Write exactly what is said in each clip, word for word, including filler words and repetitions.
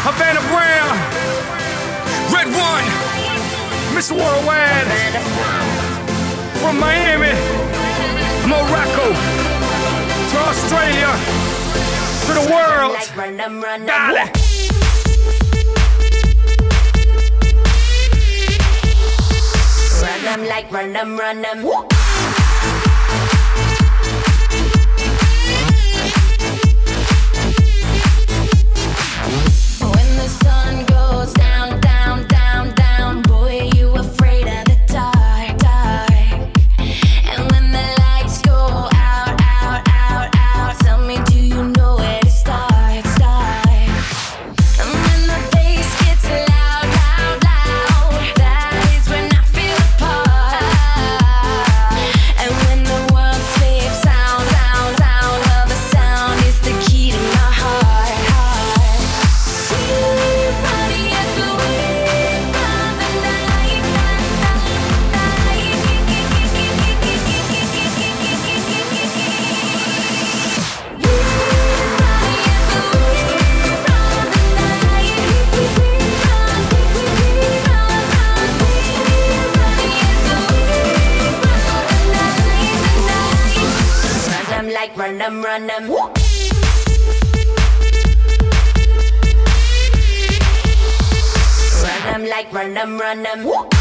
Havana Brown, Red One, Mister Worldwide, from Miami, Morocco, to Australia, to the world. Dale. Run them like run them, run them. When the sun goes down, down, down, down, boy, you afraid of the dark, dark. And when the lights go out, out, out, out, tell me, do you know where to start, start? And when the bass gets loud, loud, loud, that is when I feel the part. And when the world sleeps, sound, sound, sound, well, the sound is the key to my heart, heart. Everybody at the wave of the night, run them like run them, run them. Run them like run them, run them.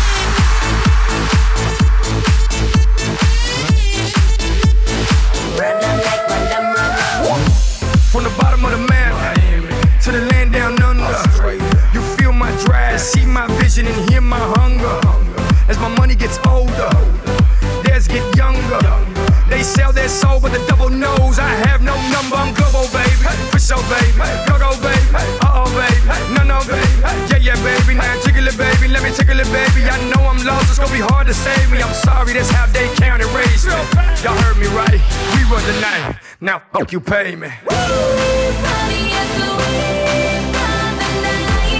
Run them like run them, run them. From the bottom of the map to the land down under, you feel my drive, see my vision and hear my hunger. As my money gets older, theirs get younger. They sell their soul with a double nose. I have no number, I'm global, baby. For sure, baby. Go, go, baby. Uh-oh, baby. No, no, baby. Yeah, yeah, baby. Now jiggle it, baby. Let me tickle it, baby. I know I'm lost, it's gonna be hard to save me. I'm sorry, that's how they count and raise me. Y'all heard me right. We run the night. Now, fuck you, pay me. Everybody at the wave of the night,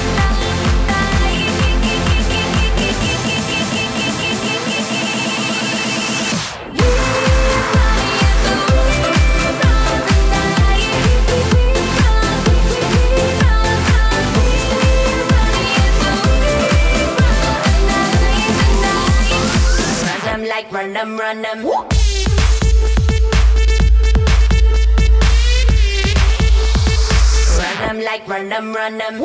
run them like run them, run them. Run them like run them, run them.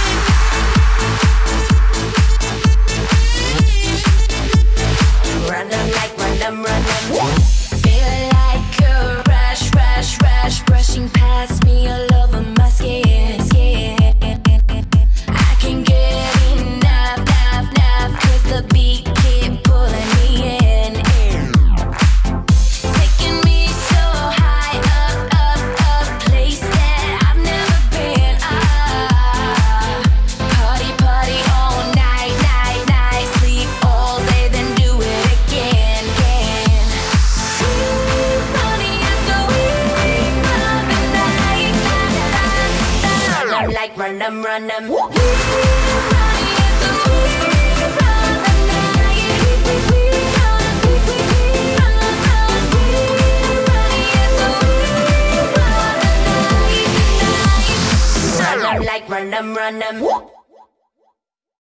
Run them like run them, run them. Feel like a rush, rush, rush, brushing past me all over my skin, skin. I can get enough, enough, enough, 'cause the beat keep pulling me in, in. Taking me so high up, up, up, place that I've never been. Ah, party, party all night, night, night, sleep all day, then do it again, again. Party is the wave of the night. Run them like run them, run them. Party is the wave of the night. Run them like run them, run them.